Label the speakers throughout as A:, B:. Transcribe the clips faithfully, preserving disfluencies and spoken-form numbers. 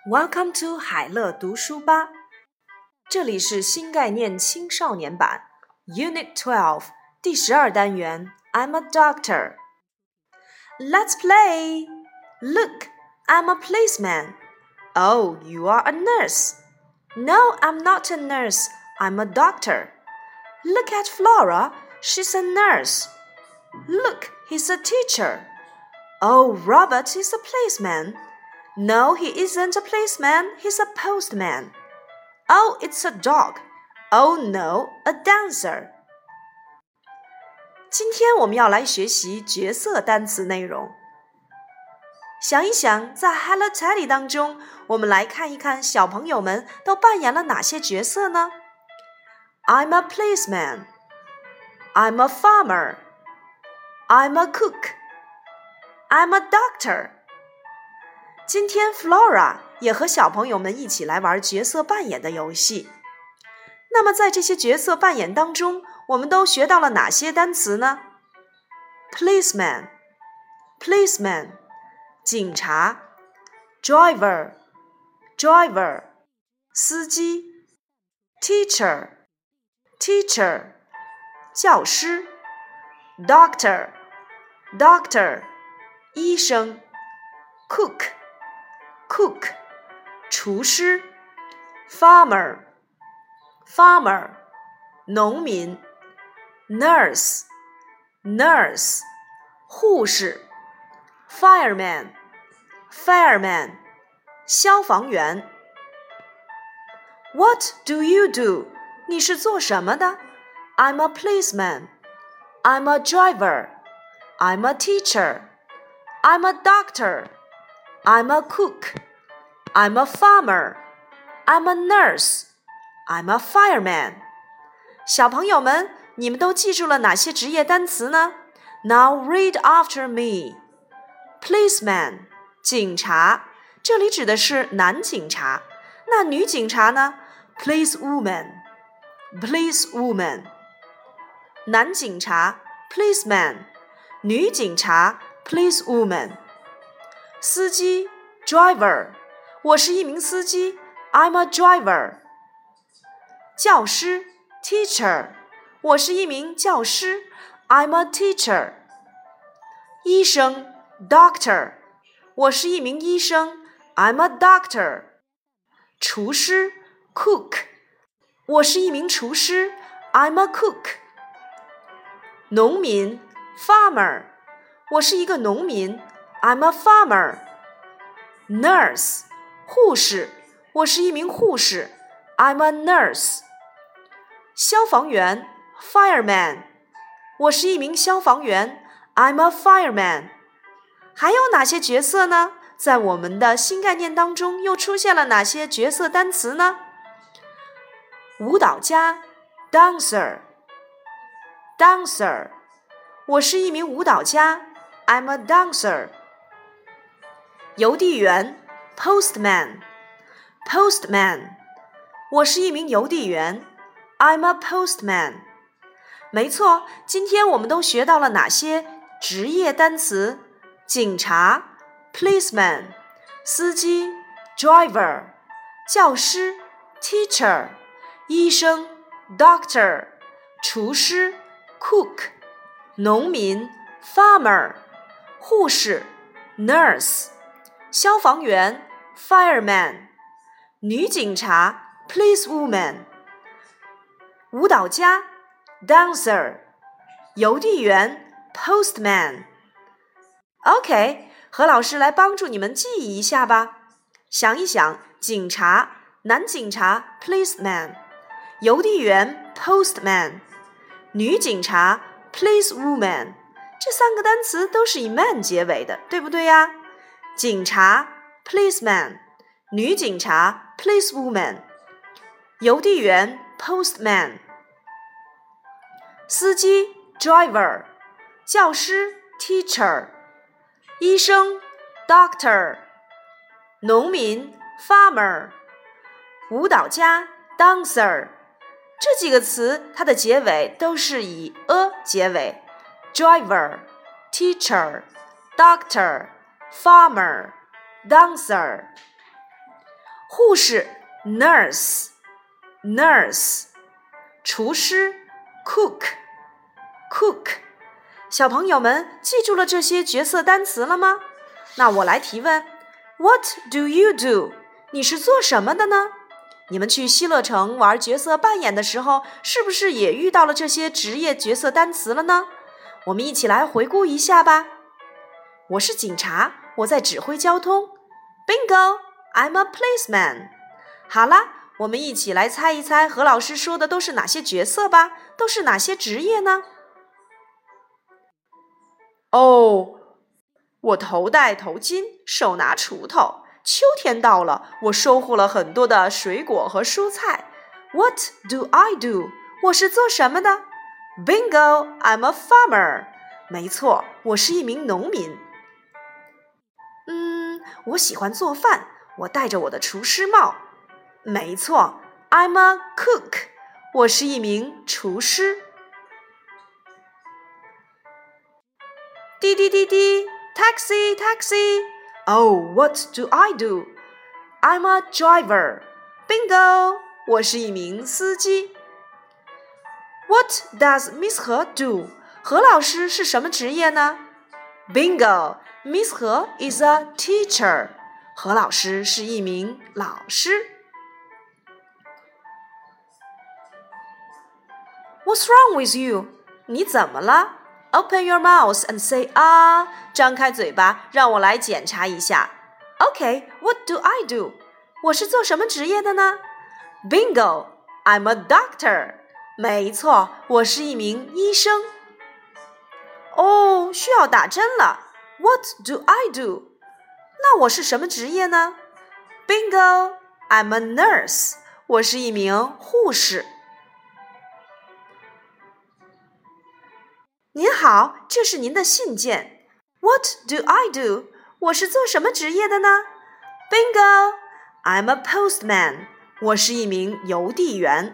A: Welcome to 海乐读书吧，这里是新概念青少年版 Unit twelve 第十二单元 I'm a doctor. Let's play! Look, I'm a policeman. Oh, you are a nurse. No, I'm not a nurse. I'm a doctor. Look at Flora, she's a nurse. Look, he's a teacher. Oh, Robert is a policeman.No, he isn't a policeman, he's a postman. Oh, it's a dog. Oh no, a dancer. 今天我们要来学习角色单词内容。想一想，在 Hello Teddy 当中，我们来看一看小朋友们都扮演了哪些角色呢？ I'm a policeman. I'm a farmer. I'm a cook. I'm a doctor.今天 Flora 也和小朋友们一起来玩角色扮演的游戏。那么在这些角色扮演当中，我们都学到了哪些单词呢？ Policeman, policeman, 警察 Driver, driver, 司机 Teacher, teacher, 教师 Doctor, doctor, 医生 Cook,Cook, 厨师 Farmer, farmer, 农民 Nurse, nurse, 护士 Fireman, fireman, 消防员 What do you do? 你是做什么的？ I'm a policeman. I'm a driver. I'm a teacher. I'm a doctor.I'm a cook. I'm a farmer. I'm a nurse. I'm a fireman. 小朋友们，你们都记住了哪些职业单词呢？ Now read after me. Policeman, 警察，这里指的是男警察。那女警察呢？ Policewoman, policewoman. 男警察 Policeman, 女警察 Policewoman.司机 driver 我是一名司机 I'm a driver 教师 teacher 我是一名教师 I'm a teacher 医生 doctor 我是一名医生 I'm a doctor 厨师 cook 我是一名厨师 I'm a cook 农民 farmer 我是一个农民I'm a farmer. Nurse, 护士，我是一名护士 I'm a nurse. 消防员 Fireman, 我是一名消防员 I'm a fireman. 还有哪些角色呢？在我们的新概念当中又出现了哪些角色单词呢？舞蹈家 Dancer, dancer, 我是一名舞蹈家 I'm a dancer.邮递员 Postman, postman 我是一名邮递员 I'm a postman 没错，今天我们都学到了哪些职业单词？警察 Policeman, 司机 Driver, 教师 Teacher, 医生 Doctor, 厨师 Cook, 农民 Farmer, 护士 Nurse,消防员 Fireman, 女警察 Policewoman, 舞蹈家 Dancer, 邮递员 Postman. OK, 何老师来帮助你们记忆一下吧。想一想，警察男警察 Policeman, 邮递员 Postman, 女警察 Policewoman. 这三个单词都是以 man 结尾的，对不对呀？警察 policeman, 女警察 policewoman, 邮递员 postman, 司机 driver, 教师 teacher, 医生 doctor, 农民 farmer, 舞蹈家 dancer. 这几个词它的结尾都是以 a 结尾 driver, teacher, doctor,Farmer, dancer. 护士 nurse nurse， 厨师 cook cook。 小朋友们记住了这些角色单词了吗？那我来提问 What do you do？ 你是做什么的呢？你们去希乐城玩角色扮演的时候，是不是也遇到了这些职业角色单词了呢？我们一起来回顾一下吧。我是警察，我在指挥交通。 Bingo! I'm a policeman。 好啦，我们一起来猜一猜何老师说的都是哪些角色吧，都是哪些职业呢？哦，我头戴头巾，手拿锄头。秋天到了，我收获了很多的水果和蔬菜。 What do I do？ 我是做什么的？ Bingo! I'm a farmer。 没错，我是一名农民。嗯，我喜欢做饭，我戴着我的厨师帽。没错 ，I'm a cook。 我是一名厨师。滴滴滴滴 ，taxi taxi。Oh, what do I do? I'm a driver. Bingo! 我是一名司机。What does Miss He do? 何老师是什么职业呢？ Bingo! Miss He is a teacher. 何老师是一名老师。What's wrong with you? 你怎么了？ Open your mouth and say 啊，张开嘴巴，让我来检查一下。Okay, what do I do? 我是做什么职业的呢？ Bingo! I'm a doctor. 没错，我是一名医生。哦，需要打针了。What do I do? 那我是什么职业呢？ Bingo! I'm a nurse. 我是一名护士。您好，这是您的信件。What do I do? 我是做什么职业的呢？ Bingo! I'm a postman. 我是一名邮递员。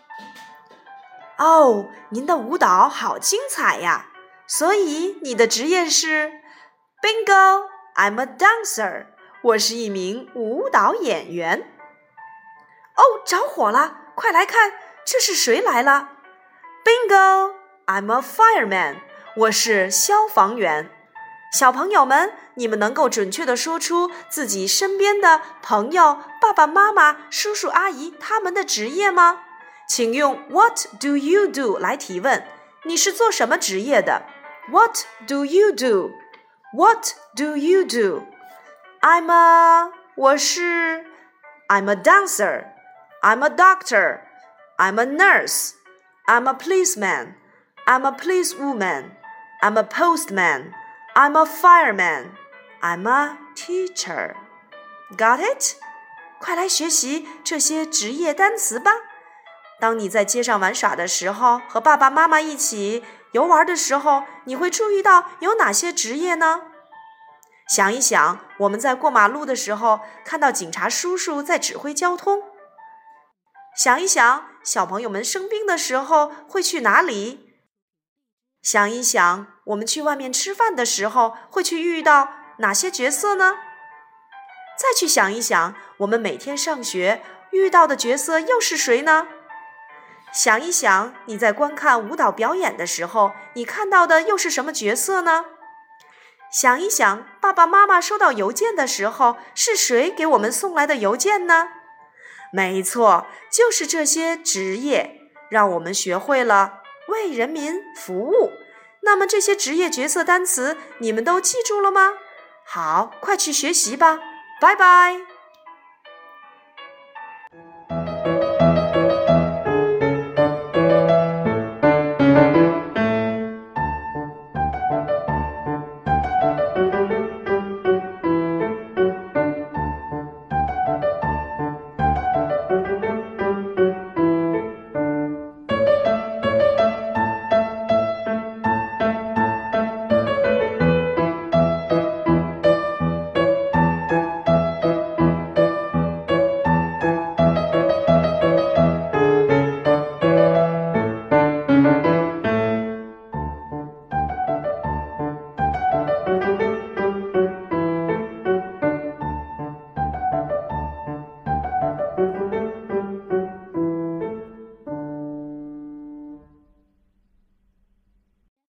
A: 哦，您的舞蹈好精彩呀！所以你的职业是 Bingo! I'm a dancer. 我是一名舞蹈演员。哦，着火了！快来看，这是谁来了？ Bingo! I'm a fireman. 我是消防员。小朋友们，你们能够准确地说出自己身边的朋友、爸爸妈妈、叔叔阿姨他们的职业吗？请用 What do you do 来提问。你是做什么职业的？ What do you do? What do you do? I'm a 我是 I'm a dancer. I'm a doctor. I'm a nurse. I'm a policeman. I'm a policewoman. I'm a postman. I'm a fireman. I'm a teacher. Got it? 快来学习这些职业单词吧。当你在街上玩耍的时候，和爸爸妈妈一起游玩的时候，你会注意到有哪些职业呢？想一想，我们在过马路的时候，看到警察叔叔在指挥交通。想一想，小朋友们生病的时候会去哪里？想一想，我们去外面吃饭的时候会去遇到哪些角色呢？再去想一想，我们每天上学遇到的角色又是谁呢？想一想，你在观看舞蹈表演的时候，你看到的又是什么角色呢？想一想，爸爸妈妈收到邮件的时候，是谁给我们送来的邮件呢？没错，就是这些职业，让我们学会了为人民服务。那么这些职业角色单词，你们都记住了吗？好，快去学习吧，拜拜。